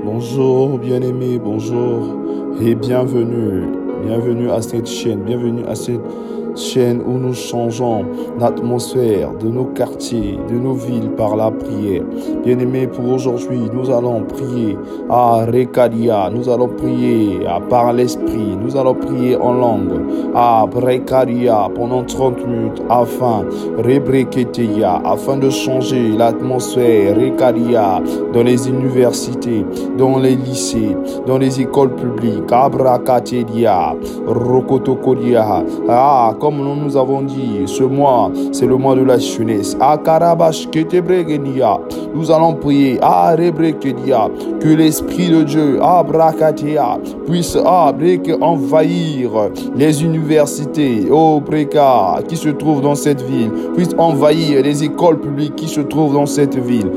Bonjour bien-aimés, bonjour et bienvenue. Bienvenue à cette chaîne, bienvenue à cette chaîne où nous changeons l'atmosphère de nos quartiers, de nos villes par la prière. Bien-aimés, pour aujourd'hui, nous allons prier à Rekadia, nous allons prier par l'esprit, nous allons prier en langue à Rekadia pendant 30 minutes afin de changer l'atmosphère Rekadia dans les universités, dans les lycées, dans les écoles publiques, Abrakatedia, Rokotokodia. Comme nous avons dit, ce mois, c'est le mois de la jeunesse. Nous allons prier que l'Esprit de Dieu puisse envahir les universités qui se trouvent dans cette ville, puisse envahir les écoles publiques qui se trouvent dans cette ville.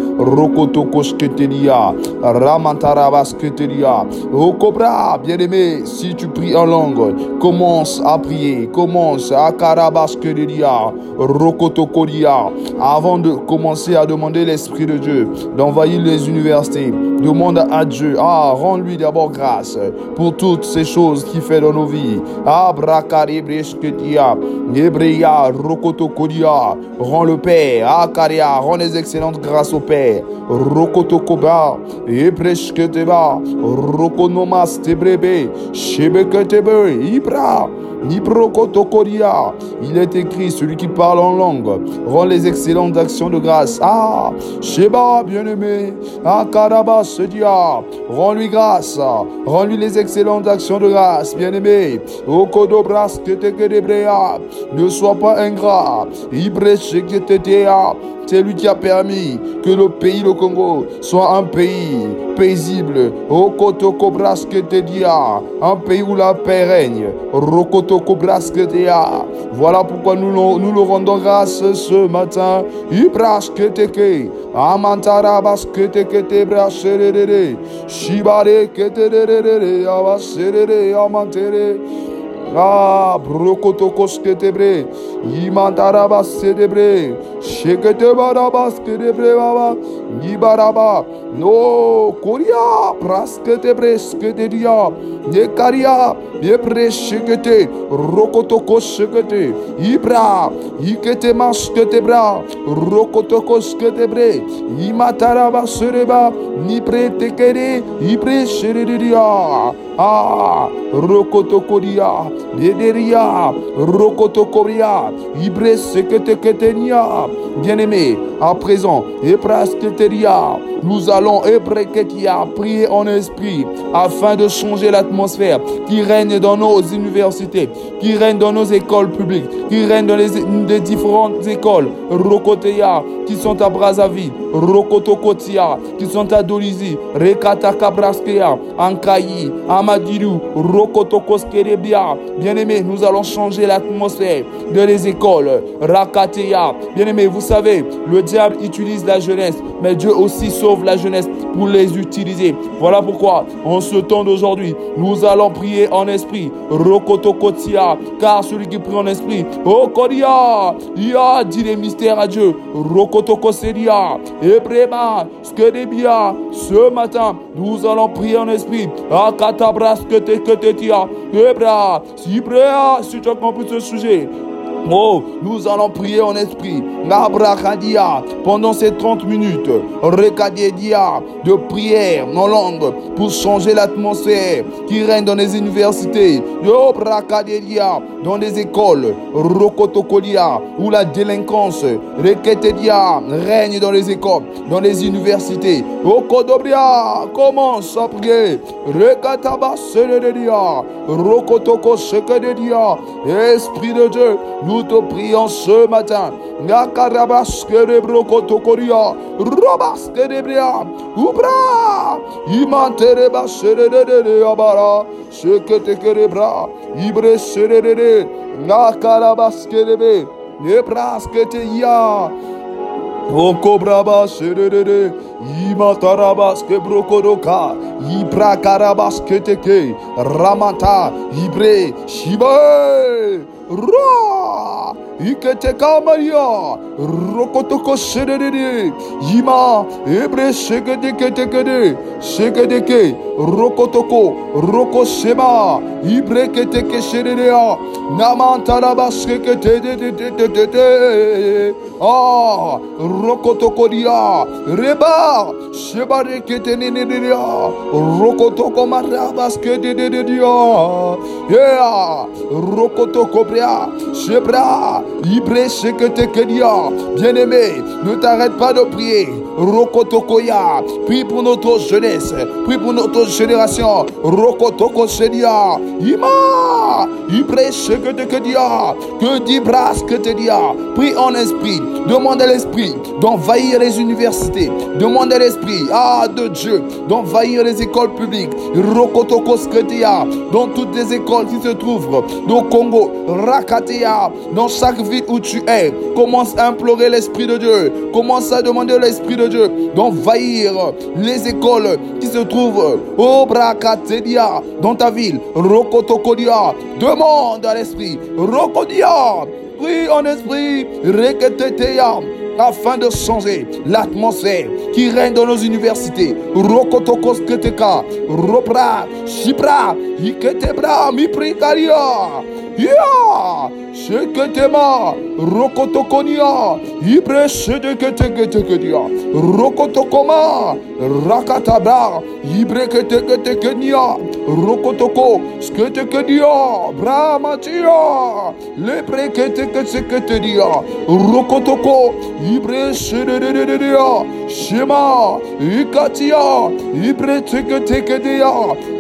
Bien-aimé, si tu pries en langue, commence à prier, commence à Karabaskeria, Rokotokoria. Avant de commencer à demander l'Esprit de Dieu d'envahir les universités, demande à Dieu, rends-lui d'abord grâce pour toutes ces choses qu'il fait dans nos vies. Abrakaribresketia, Hebreya, Rokotokoria, rends le Père, Akaria, rends les excellentes grâces au Père. Rokotokoba, Ebresketeba, Rokonomas Tebrebe, Shebeketebe, Ibra. Niprokotokoria. Il est écrit, celui qui parle en langue rend les excellentes actions de grâce. Sheba, bien-aimé, Karabas, se dit, rends-lui grâce, rends-lui les excellentes actions de grâce, bien-aimé. Okodobras, ne sois pas ingrat. Ibrecheketetea. C'est lui qui a permis que le pays, le Congo, soit un pays paisible. Un pays où la paix règne. Voilà pourquoi nous le rendons grâce ce matin. Brokotokos ketebre, Imantarabas sedebre, Sheketebarabas kedebre baba, Nibaraba, no, Koria, Prasketebre, Sketedia, Nekaria, Yebre Shekete, Rokotokos Shekete, Ibra, Ikete Masketebra, Rokotokos ketebre, Imatarabas sereba, Nibre tekere, Ibre sheredia. Rokotokoria, Dederia, Rokotokoria, Ibre Seketeketenia. Bien-aimé, à présent, Eprasketeria, nous allons prier en esprit afin de changer l'atmosphère qui règne dans nos universités, qui règne dans nos écoles publiques, qui règne dans les différentes écoles, Rokoteya, qui sont à Brazzaville, Rokotokotia, qui sont à Dolisie, Rekatakabraskeya, Ankayi, Amadilou, Rokotokoskerebia. Bien-aimés, nous allons changer l'atmosphère de les écoles, Rakateya. Bien-aimés, vous savez, le diable utilise la jeunesse, mais Dieu aussi sauve la jeunesse pour les utiliser. Voilà pourquoi, en ce temps d'aujourd'hui, nous allons prier en esprit, Rokotokotia, car celui qui prie en esprit, Okodia, il a dit les mystères à Dieu, Rokotokoseria, Ebrema, Skedebia. Ce matin, nous allons prier en esprit, Akatabras Keteketetia, Ebra, Sibrea, si tu as compris ce sujet. Nous allons prier en esprit. Nabrakadia, pendant ces 30 minutes, Rekadia, de prière en langue pour changer l'atmosphère qui règne dans les universités. Yobrakadia, dans les écoles, Rokotokolia, où la délinquance, Reketedia, règne dans les écoles, dans les universités. Okodobria, commence à prier. Rekataba Sededia, Rokotoko Sekededia, Esprit de Dieu. Nous te prions ce matin. Nakarabaskerebrokotokoria, Robaskerebria, Ubra, Imantereba Serede Abara, Seketekerebra, Ibre Serede, Nakarabaskerebe, Nebrasketeya. Okobraba serede, Imatarabas kebrokodoka, Ibrakarabas keteke, Ramata, Ibre, Shibe, Ra, Iketeka Maria, Rokotoko Shedede, Yima, Ebre Shegedeke, Shegedeke, Rokotoko, Roko Shema, Ibre Keteke Shededea, Namantaraba Shekete, Ah, Rokotoko Dia, Reba, Shebare Ketenedia, Rokotoko Marabas Kededia, Yeah, Rokotoko Bria, Shebra, Ibre Shekete Dia, bien-aimé, ne t'arrête pas de prier. Rokotokoya, prie pour notre jeunesse, prie pour notre génération. Rokotoko Shedia, Ima, Ibre Shekete Dia, que dit Bras que te dia, prie en esprit, demande à l'esprit d'envahir les universités, demande à l'esprit, de Dieu, d'envahir les écoles publiques. Rokotoko Sketia, dans toutes les écoles qui se trouvent au Congo, Rakatea, dans chaque ville où tu es, commence à implorer l'Esprit de Dieu, commence à demander à l'Esprit de Dieu d'envahir les écoles qui se trouvent au Brakatedia, dans ta ville. Rokotokodia, demande à l'Esprit, Rokodia, prie en esprit, Reketetea, afin de changer l'atmosphère qui règne dans nos universités. Rokotokosketeka, Ropra, Shipra, Iketebra, Miprikaria, Ya, Sheketema, Rokotokonia, Ibre Shedeketeketekedia, Rokotokoma, Rakatabra, Ibre Keteketekenia, Rokotoko, Sketekedia, Brahmatia, Lepre Keteketekedia, Rokotoko, Ibre Shedeketekedia, Shema, Ikatia, Ibre Teketekedia,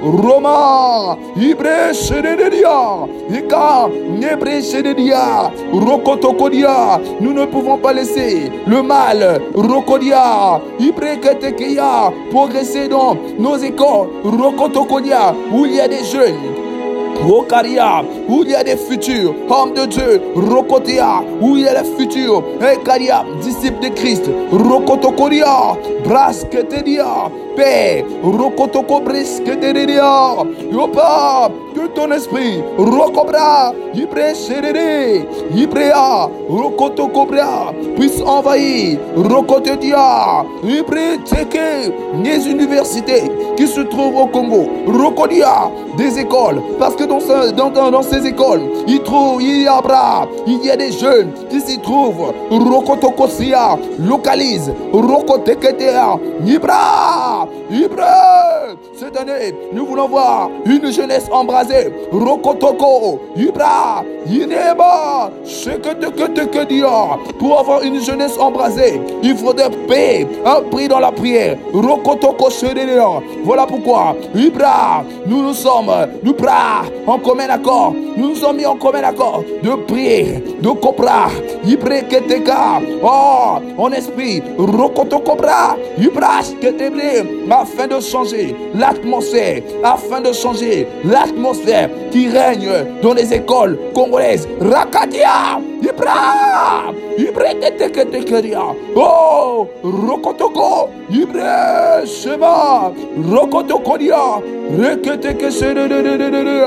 Roma, Ibre Shedeketedia, Ika, Nebre Shededia, Rokotokodia. Nous ne pouvons pas laisser le mal, Rokodia, Ibre Ketekedia, progresser dans nos écoles, Rokotokodia, où il y a des jeunes. Rokaria, où il y a des futurs hommes de Dieu. Rokotea, où il y a les futurs Ekaria, disciples de Christ. Rokotokoria, Brasketedia, Père, Rokotoko Brisketedia, Yopa, que ton esprit, Rokobra, Ibre Serere, Ibrea, Rokotokobra, puisse envahir, Rokotedia, Ibre Teke, les universités qui se trouvent au Congo. Rokodia, des écoles, parce que dans ces écoles, il y a des jeunes qui s'y trouvent. Rokotokosia, localise, Rokoteketea, Ibra, Ibra. Cette année, nous voulons voir une jeunesse embrasée. Rokotoko, Ibra, Ineba, Sheketeketekedia. Pour avoir une jeunesse embrasée, il faudrait payer un prix dans la prière. Rokotoko Shedelia. Voilà pourquoi, Ibra, nous en commun accord. Nous nous sommes mis en commun accord de prier, de copra, Ibre Keteka, en esprit, Rokotokobra, Ibra Keteble, afin de changer l'atmosphère qui règne dans les écoles congolaises. Rakadia, Ibra, Ibre Keteketekeria, Rokotoko, Ibre Shema, Rokotokodia, Reketekesede,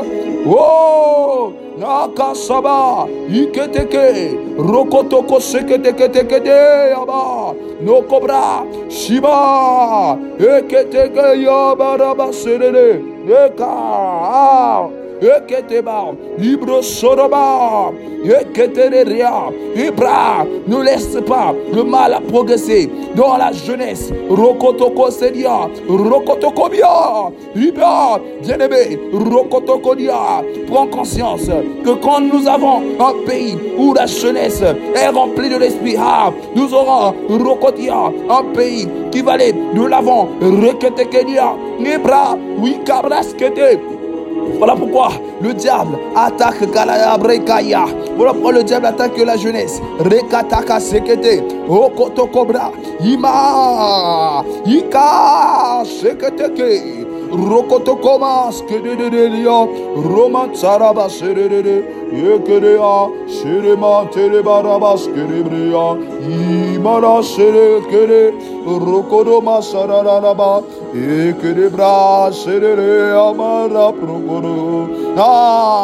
Nakasaba, Iketeke, Rokotoko Seketekete, Yaba, Nokobra, Shiba, Eketeke Yabaraba Serede, Eka, Eketeba, Libre Soroba, Eketeria, Ibra, ne laisse pas le mal à progresser dans la jeunesse. Rokotoko Sedia, Rokotokobia, Ibra, bien-aimé, Rokotokodia, prends conscience que quand nous avons un pays où la jeunesse est remplie de l'esprit, nous aurons Rokotia, un pays qui va aller de l'avant. Reketekedia, Ibra, Wikabraskete. Voilà pourquoi le diable attaque Kalabrekaya. Voilà pourquoi le diable attaque la jeunesse. Rekataka Sekete, Okotokobra, Ima, Ika, Seketeke, Rokotokoma, Skededelia, Roman Saraba Serede, Yekedea, Sherema Telebarabas Kerebrea, Imara Serekere, Rokodoma Sararaba, Ekedebra Serere Amara Prokoro.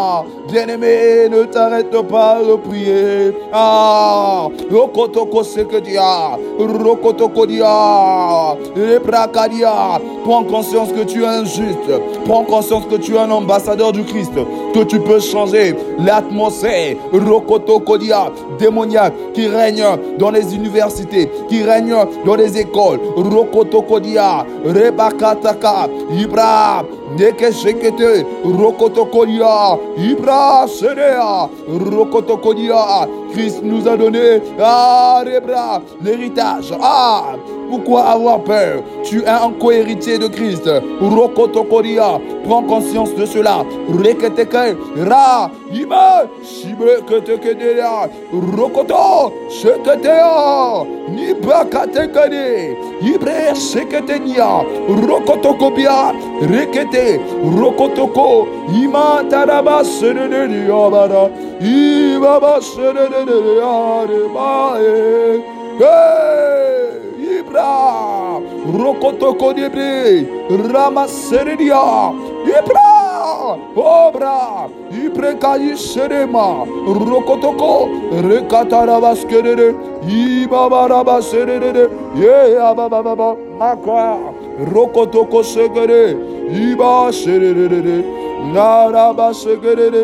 Bien-aimé, ne t'arrête pas de prier. Ah, Rokotoko Sekedia, Rokotoko Dia, Lebrakadia. Prends conscience que tu es un juste. Prends conscience que tu es un ambassadeur du Christ. Que tu peux changer l'atmosphère, Rokotoko Dia, démoniaque qui règne dans les universités, qui règne dans les écoles. Rokotoko Dia, Rebakataka, Ibra, Nekeshekete, Rokotoko Dia, Ibra Serea, Rokotoko Dia. Christ nous a donné l'héritage. Pourquoi avoir peur? Tu es un co-héritier de Christ. Rokotokoria, prends conscience de cela. Reketeke, ra, ima, shibe ketekedea, rokoto, sheketea, nibakatekade, ibre sheketenia, rokotokopia, rekete, rokotoko, ima taraba senedea bara, ibaba senedea rebae. Ibra, Rokotoko Debre, Ramaseria, Ibra, Obra, Ibrekayi Serema, Rokotoko, Rekatarabaskerere, Ibabaraba Serere, Ababa, Maka, Rokotoko Segere, Iba Serere, Naraba Segere,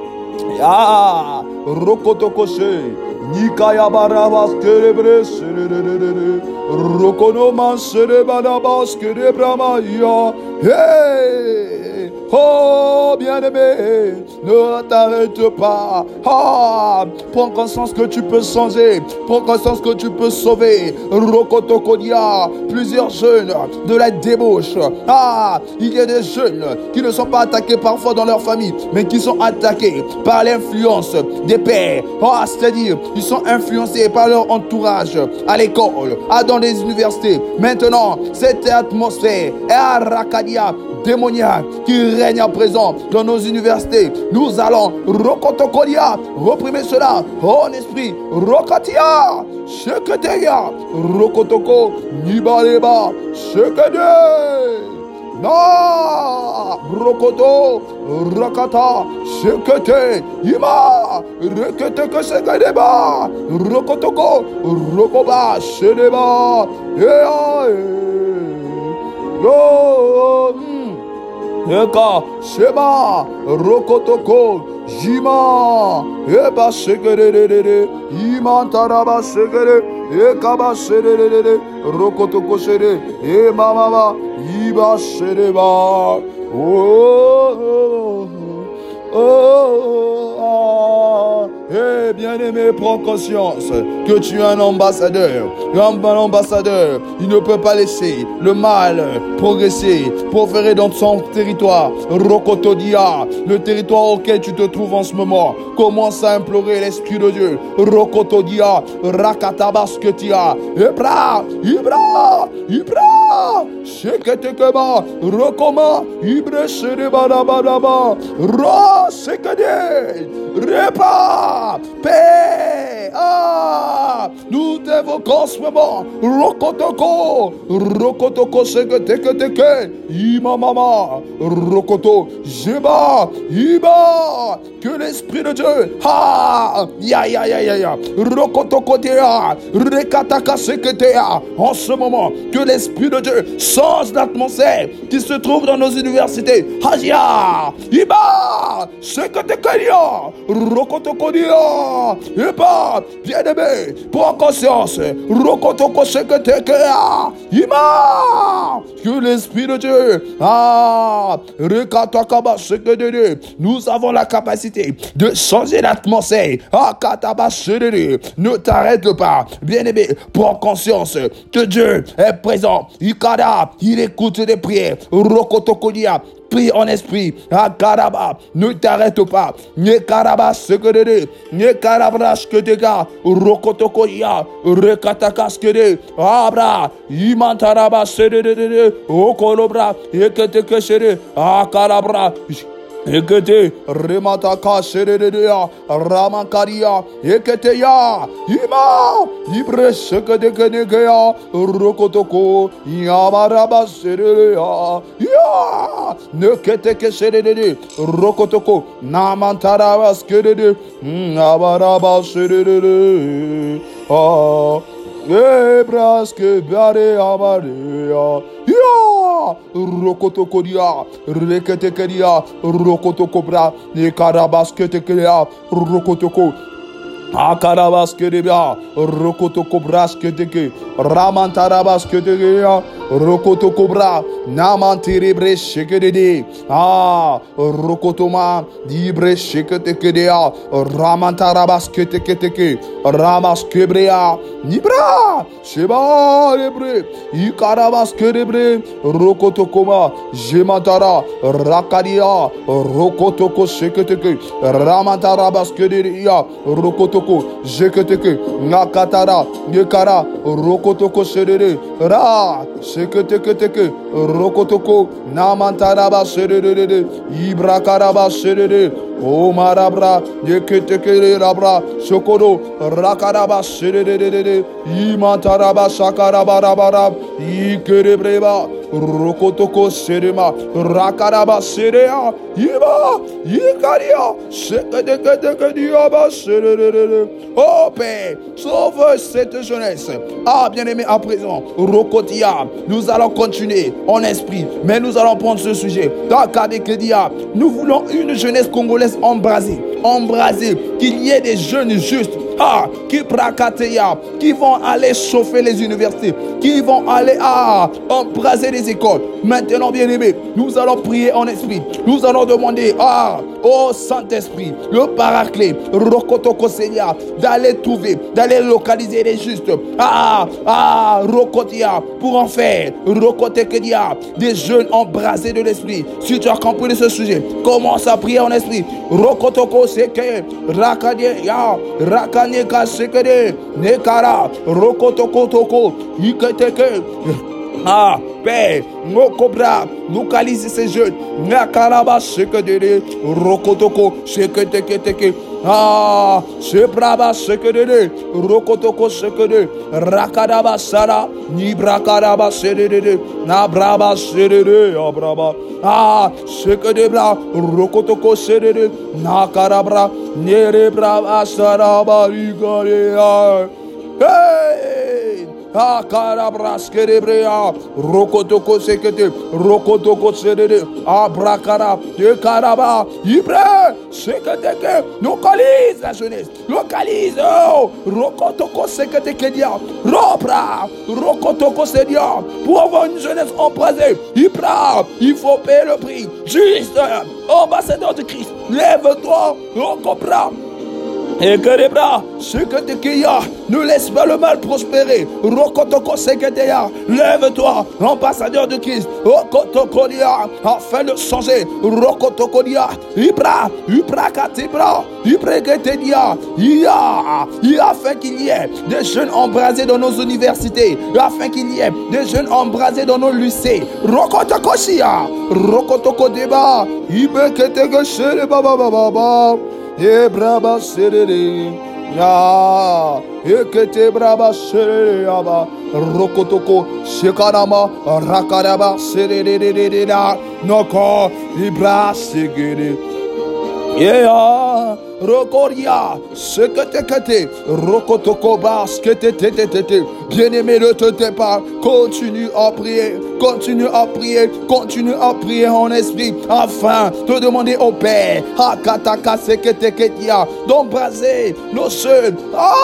Rokotoko Se. Nikaya barabas kerebre serere rokonoman serebanabas kerebramaya. Hey, oh bien-aimé, ne t'arrête pas. Prends conscience que tu peux changer. Prends conscience que tu peux sauver. Rokotokodia, plusieurs jeunes de la débauche. Il y a des jeunes qui ne sont pas attaqués parfois dans leur famille, mais qui sont attaqués par l'influence des pères. C'est-à-dire, ils sont influencés par leur entourage à l'école, dans les universités. Maintenant, cette atmosphère est à Rakadia démoniaque qui règne à présent dans nos universités. Nous allons Rokotokodia, reprimer cela en esprit. Rokatia, Sheketeya, Rokotoko, Nibaleba, Shekede. Na Rokoto Rakata Shekete Ima Rekete Kesekadeba Rokotoko Rokoba Shedeba Eka Sheba Rokotoko Jima Eba Shekere Imantaraba Shekere Ekaba Shekere Rokotoko Shere Emama Iba Shereba. Bien-aimé, prends conscience que tu es un ambassadeur. Un ambassadeur, il ne peut pas laisser le mal progresser, proférer dans son territoire. Rokotodia, le territoire auquel tu te trouves en ce moment. Commence à implorer l'Esprit de Dieu. Rokotodia, Rakatabasketia, Ibra, Sheketekeba, Rokoma, Ibre Sherebadabadaba, Ro Sekade, Repa, paix. Nous t'évoquons ce moment. Rokotoko, Seketeke, Imamama, Rokoto, Jeba, Iba, que l'Esprit de Dieu, Rokotoko Tea, Rekataka Seketea, en ce moment, que l'Esprit de Dieu change l'atmosphère qui se trouve dans nos universités. Hajia, Iba, Seketekelia, Rokotokodia, Iba, bien-aimé, prends conscience, Rokotoko Seketekea, Ima, que l'Esprit de Dieu, Rekatakaba Sekede, nous avons la capacité de changer l'atmosphère. Kataba Sekede, ne t'arrête pas, bien-aimé, prends conscience que Dieu est présent. Ikada, il écoute des prières. Rokotokodia, prie en esprit. Akaraba, ne t'arrête pas. Nekaraba Sekede, Nekarabra Skedega, Rokotokodia, Rekataka Skede, Abra, Imantaraba Sede, Okolobra, Eketeke Sede, Akarabra. Ekete remataka sererea ramakaria eketeya ima ibre sekedekenegea rokotoko yamaraba sererea ya neketeke serere rokotoko namantaraba skerede abaraba serere Ebraske bare amaria ya rokotokoria reketekeria rokotokobra ne karabasketekeria rokotoko Akarabaskerebia, Rokotokobrasketeke, Ramantarabasketeke, Rokotokobra, Namantirebre Shekedede, Rokotoma, Dibre Sheketekedea, Ramantarabasketeketeke, Ramaskebrea, Nibra, Sheba Lebre, Ikarabaskerebre, Rokotokoma, Jemantara, Rakadia, Rokotoko Sheketeke, Ramantarabaskedia, Rokotoko. Jeketeke, Nakatara, Nekara, Rokotoko Serere, Ra, Seketeke, Rokotoko, Namantaraba Serere, Ibrakaraba Serere, O Marabra, Yeketeke Rabra, Sokoro, Rakaraba Serere, Imantaraba Sakarabarabara, Ikerebreba, Rokotoko Serema, Rakaraba Serea, Iba, Ikaria, Seketeke Diaba Serere. Oh Père, sauve cette jeunesse. Ah bien-aimé, à présent, Rokotia, nous allons continuer en esprit, mais nous allons prendre ce sujet. Dans Kadekedia, nous voulons une jeunesse congolaise embrasée, qu'il y ait des jeunes justes, qui vont aller chauffer les universités, qui vont aller embraser les écoles. Maintenant, bien-aimé, nous allons prier en esprit. Nous allons demander au Saint-Esprit, le Paraclet, Rokotoko Seigneur, d'aller trouver, d'aller localiser les justes. Rokotia, pour en faire, Rokotekedia, des jeunes embrasés de l'esprit. Si tu as compris de ce sujet, commence à prier en esprit. Rokotoko Seke, Rakadia, Rakaneka Sekede, Nekara, Rokotoko Toko, Iketeke. Père, Mokobra, localise ces jeunes. Nakaraba, Sekedere, Rokotoko, Seketeke. Sebraba, Sekedere, Rokotoko, Sekede, Rakadaba, Sara, Nibrakaraba, Sedede, Nabraba, Sedede, Abraba. Sekedebra, Rokotoko, Sedede, Nakarabra, Nerebraba, Saraba, Rigarea. Hey! Karabaskerebrea, Rokotoko Sekete, Rokotoko Sedede, Abrakara, de Karaba, Ibre, Seketeke, localise la jeunesse, localise, Rokotoko Sekete Kedia, Robra, Rokotoko Sedia, pour avoir une jeunesse embrasée, Ibra, il faut payer le prix, juste, ambassadeur de Christ, lève-toi, Rokobra. Et que les bras, ce que tu as, ne laisse pas le mal prospérer. Rokotoko Seketeya, lève-toi, ambassadeur de Christ. Rokotokodia, afin de changer. Rokotokodia, Ibra Katibra, Ibreketedia, afin qu'il y ait des jeunes embrasés dans nos universités, afin qu'il y ait des jeunes embrasés dans nos lycées. Rokotokosia, Rokotokodeba, Ibreketege Baba. E braba serere ya ekete braba serere aba rokotoko shekarama rakaraba serere da noko ibra segere Rokoria, sekete, rokotoko baskete, bien-aimé, ne te tais pas, continue à prier, continue à prier en esprit, afin de demander au Père, hakataka sekete ketia, d'embraser nos jeunes,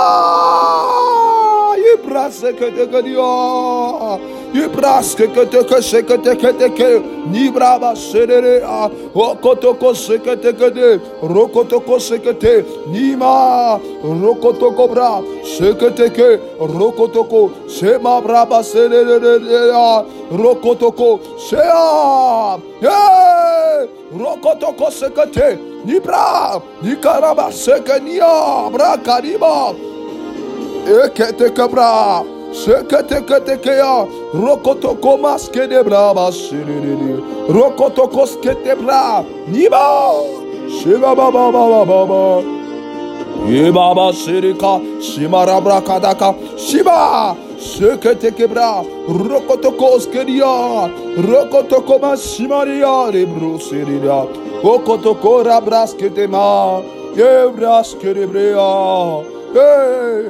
ibra sekete ketia. Ibraske que Nibraba serere Rokotoko sekete Rokotoko sekete Nima Rokotoko bra sekete Rokotoko Sema braba serere Rokotoko Sea Rokotoko sekete Nibra Nikaraba sekenia Bra kariba Ekete kabra Sekete Rokotoko maske de bra bashiriri. Rokotoko skete bra. Niba. Shiba baba baba baba. Yebaba shirika. Shimara brakadaka. Shiba. Shekete kebra. Rokotoko skedia. Rokotoko mashimaria. Rebro shirida. Rokotoko rabraskete ma. Yebraskete brea. Hey.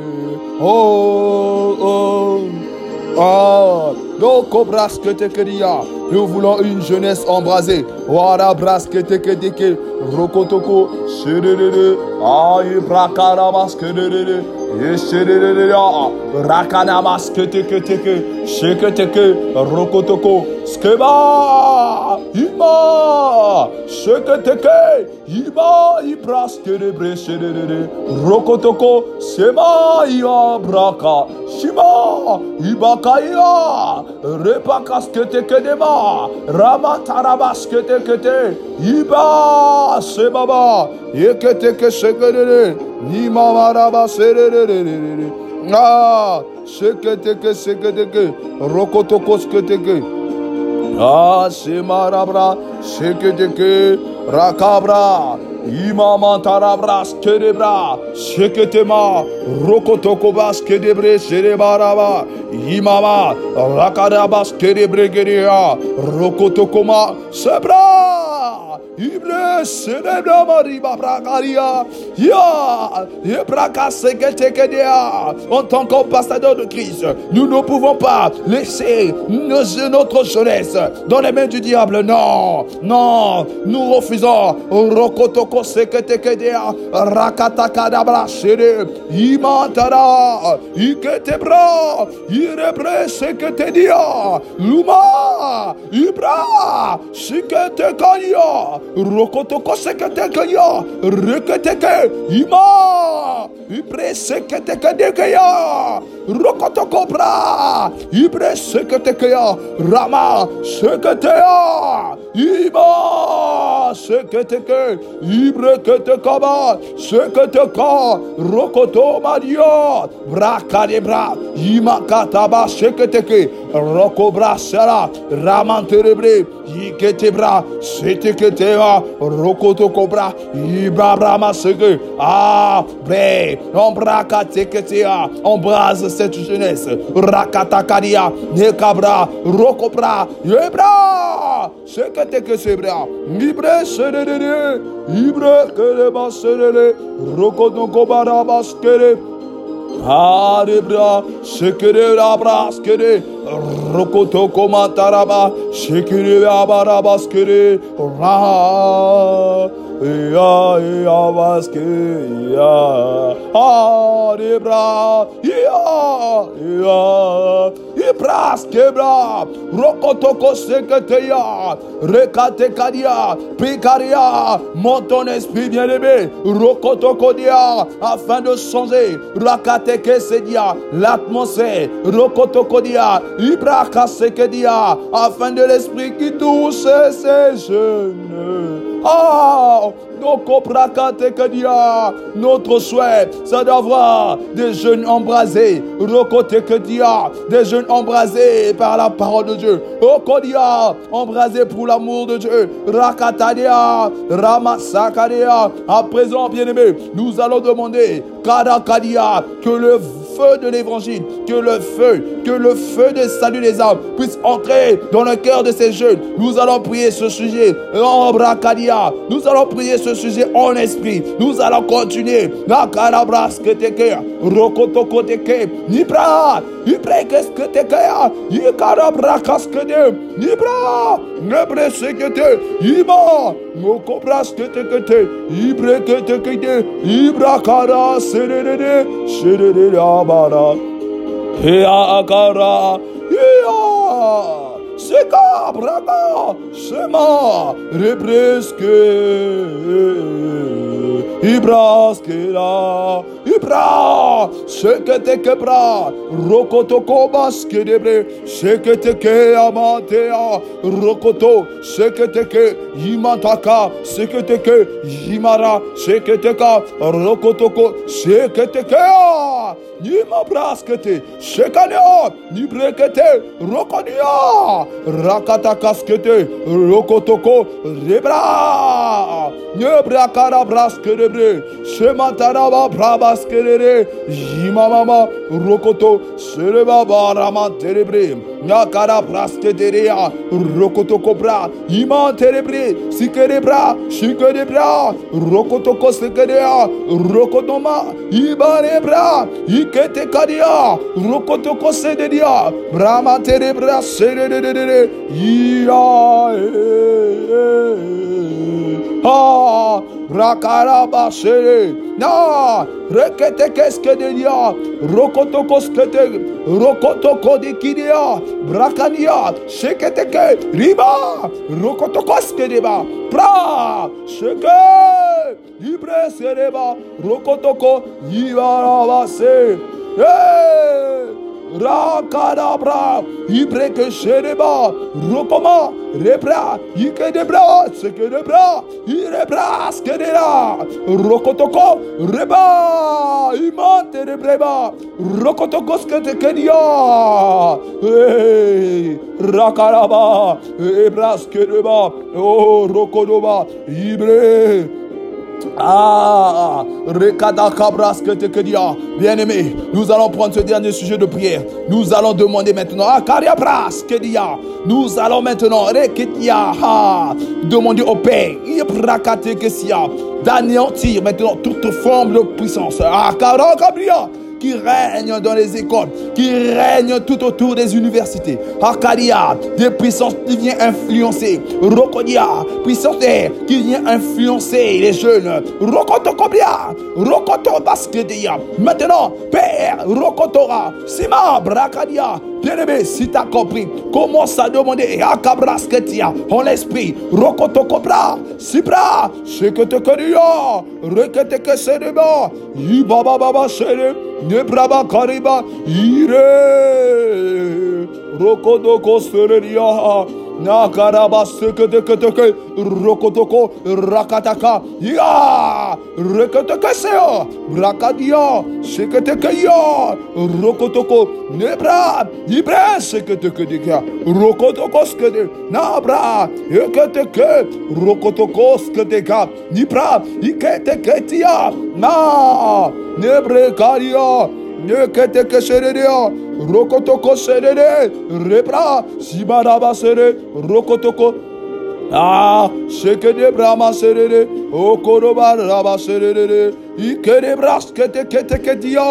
Oh. Donc, nous voulons une jeunesse embrasée. Wara braskete kedeke. Rokotoko. Shedede. Aïe brakarabaskede. Yeshedede. Rakanabaskete. Sheketeke. Rokotoko. Skeba. Ima. Sheketeke. Ima. Ibraskede breshedede. Rokotoko. Sema. Ia braka. Shima. Ibakaya. Repakaskete kedema. Ramatarabaskete kete. Iba. Sebaba. Yeketeke shekede. Nimamaraba serere. Ah. Sheketeke. Rokotoko sketeke. Ah. Semarabra. Sheketeke. Rakabra. Imamantarabra skedebra. Sheketema. Rokotoko baskedebre sherebaraba. Imama. Rakadaba skedebregeria. Rokotokoma. Sebra. Ibre sedebra mariba bragaria. Ya. Yebraka seketekedea. En tant qu'ambassadeur de Christ, nous ne pouvons pas laisser notre jeunesse dans les mains du diable. Non. Nous refusons. Rokotoko seketekedea. Rakatakadabra shere. Imantara. Iketebra. Irebre seketedia. Luma. Ibra. Siketekaya. Rokotoko seketekaya. Reketeke. Ima. Ibre seketekedekaya. Rokotoko bra. Ibre seketekaya. Rama. Seketea. Ima. Seketeke. Ibre ketekaba. Seketeka. Rokoto madia. Brakadebra. Imakataba seketeke. Rokobra sera. Ramanterebre. Iketebra. Seteketeba. Rokoto kobra. Ibrahama seke. Ah. Bre. Embrakateketea. Embrase cette jeunesse. Rakatakadia. Nekabra. Rokobra. Yebra. Seketeke sebra. Ibre serere. Ibre keleba serere. Rokoto barabas kere. Arebra, shekere rabras kere, rokotoko mataraba, shekere abarabas kere, ra, ya baske ya, arebra, ya, ibras kebra, rokotoko seketeya, rekate kadia, pikaria, monte ton esprit bien-aimé, rokotoko dia, afin de changer, rakate que se dia l'atmosphère rokotokodia ibraka sekedia afin de l'esprit qui touche ces jeunes. Notre souhait, c'est d'avoir des jeunes embrasés, des jeunes embrasés par la parole de Dieu, embrasés pour l'amour de Dieu, Rakatadia, Ramasakadia. À présent, bien-aimés, nous allons demander Kadakadia, que le feu de l'évangile, que le feu de salut des âmes puisse entrer dans le cœur de ces jeunes. Nous allons prier ce sujet en Brakadia. Nous allons prier ce sujet en esprit. Nous allons continuer. Nakarabras que te Rokotoko teke. Nibra. Ibre qu'est-ce que te kaya. Ikarabrakas que te. Nibra. Nebre se que te. Iba. Mokobras que te. Ibre que te. Ibra kara serere. Serere abara. Hea akara. Hea. Seka braga. Sema. Represke. Ibraskera. Ibra. Sekete kebra. Rokotoko baskedebre. Sekete ke amatea. Rokoto. Sekete ke imataka. Sekete ke imara. Sekete ka. Rokotoko. Sekete ke. ni ma braskete, shekania, ni brekete, rokonia, rakata kaskete, rokotoko, rebra, ni brakara braskerebre, shemataraba brabaskerere, jimamama, rokoto, sereba barama terebre, nakara brasketerea, rokotoko bra, iman terebre, sikerebra, shikerebra, rokotoko sekerea, rokotoma, ibarebra, ikete kadia, rokotoko sededia, brama terebra, sedededede, ah, rakaraba sere, na, rekete keske dedia, rokotoko skete, rokotoko de kidia, brakania, sheketeke, riba, rokotoko skedeba, pra, sheke, libre sereba, rokotoko, yivarabase, rakadabra, ibreke shereba, rokoma, rebra, ikedebra, sekedebra, irebra, skedera, rokotoko, reba, imante rebreba, rokotoko sketekedia, rakaraba, ebra skedeba, oh, rokodoba, ibre. Ah, bien-aimé, nous allons prendre ce dernier sujet de prière. Nous allons demander maintenant, nous allons maintenant demander au Père d'anéantir maintenant toute forme de puissance qui règne dans les écoles, qui règne tout autour des universités. Akadia, des puissances qui viennent influencer. Rokodia, puissance qui vient influencer les jeunes. Rokotokobia, Rokotobaskedia. Maintenant, Père, Rokotora, Sima, Brakadia. Bien-aimé, si tu as compris, commence à demander Akabrasketia en l'esprit. Rokotokobra, Sibra, Sheketekeria, Reketeke Sedeba, Ibaba Baba Sede. Nebraba kariba ire rokodoko sereria nakaraba sekete rokodoko rakataka ya reketeke seo brakadia sekete ya rokodoko nebra libre sekete dia rokodoko skede nabra eketeke rokodoko skede nibra iketeke tia na nebre karia nekete keshereria rokotoko serere repra sibaraba sere rokotoko ah shekede brama serere okoroba raba serere ikere braskete kete kedia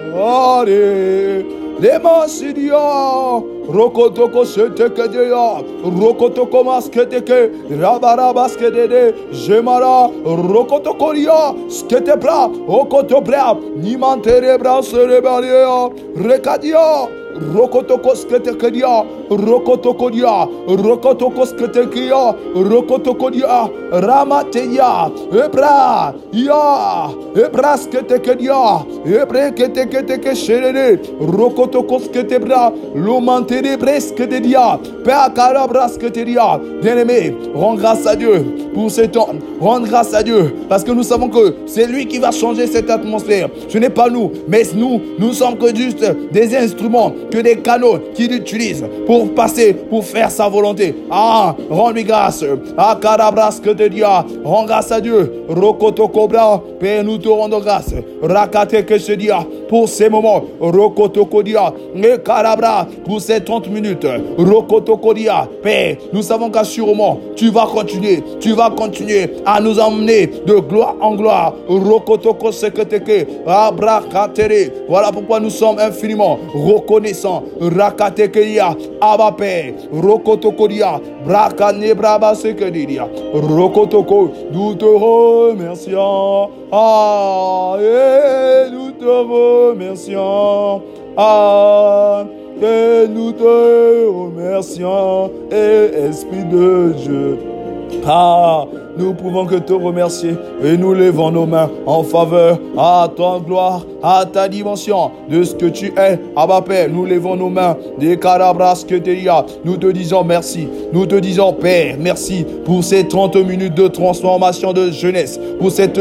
are Demasidia, Rokotoko Setekedia, Rokotoko Masketeke, Rabarabaskedede, Gemara, Rokotokoria, Sketepra, Okotopra, Nimanterebra Serebalia, Rekadia. Rokotoko sketekedia, rokotokodia, rokotoko sketekia, rokotokodia, ramateya, ebra, ya, ebra sketekedia, ebre keteketeke sherere, rokotoko sketebra, lomantere bresketedia, peakarabra sketedia. Bien-aimé, rends grâce à Dieu pour ce temps, rends grâce à Dieu, parce que nous savons que c'est lui qui va changer cette atmosphère. Ce n'est pas nous, mais nous sommes que juste des instruments, que des canaux qu'il utilise pour passer, pour faire sa volonté. Ah, rends-lui grâce. Ah, carabras que te dia, rends grâce à Dieu. Rokoto Cobra, Père, nous te rendons grâce. Rakate que se dia, pour ces moments. Rokoto Kodia, et Carabra, pour ces 30 minutes. Rokoto Kodia, Père, nous savons qu'assurément, tu vas continuer à nous emmener de gloire en gloire. Rokoto Koseketeke, Abrakatere. Voilà pourquoi nous sommes infiniment reconnaissants. Rakatekeria, Abba Père, Rokotokodia, Brakanebraba Sekedia, Rokotoko, nous te remercions. Ah, et nous te remercions. Ah, et nous te remercions. Et Esprit de Dieu. Ah, nous pouvons que te remercier et nous levons nos mains en faveur à ta gloire, à ta dimension de ce que tu es. Abba Père, nous levons nos mains des carabras que tu as. Nous te disons merci. Nous te disons Père, merci pour ces 30 minutes de transformation de jeunesse, pour cette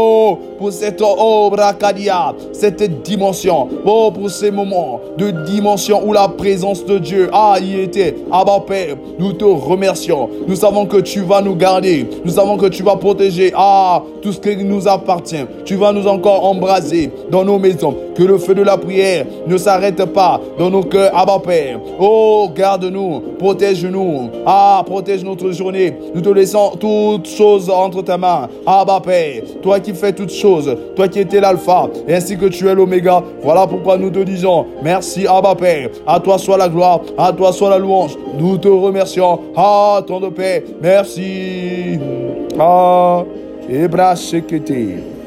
bracadia, cette dimension, pour ces moments de dimension où la présence de Dieu y était. Abba Père, nous te remercions. Nous savons que tu vas nous garder. Nous savons que tu vas protéger tout ce qui nous appartient. Tu vas nous encore embraser dans nos maisons. Que le feu de la prière ne s'arrête pas dans nos cœurs. Abba Père, garde-nous, protège-nous. Protège notre journée. Nous te laissons toutes choses entre ta main. Abba Père, toi qui fais toutes choses, toi qui étais l'alpha, et ainsi que tu es l'oméga. Voilà pourquoi nous te disons merci Abba Père. À toi soit la gloire, à toi soit la louange. Nous te remercions. Ton de paix. Merci. Ebra Shekete.